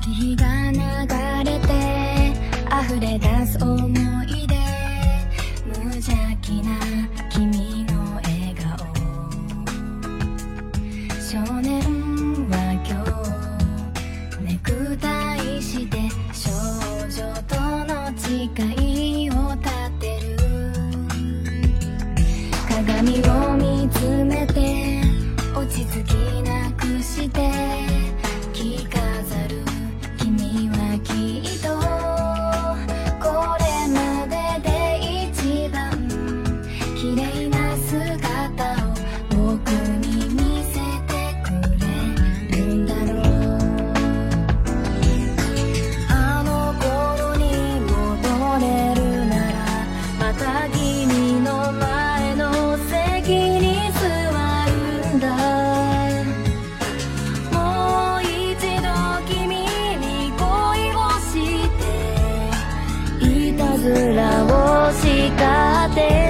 日が流れて溢れ出す思い出、無邪気な君の笑顔、少年は今日ネクタイして少女との誓いを立てる。鏡を見つめて落ち着きなくして着飾る君はきっとこれまでで一番綺麗な姿を僕に見せてくれるんだろう。あの頃に戻れるならまた君の前の席に座るんだ。もう一度君に恋をしていたずらを叱って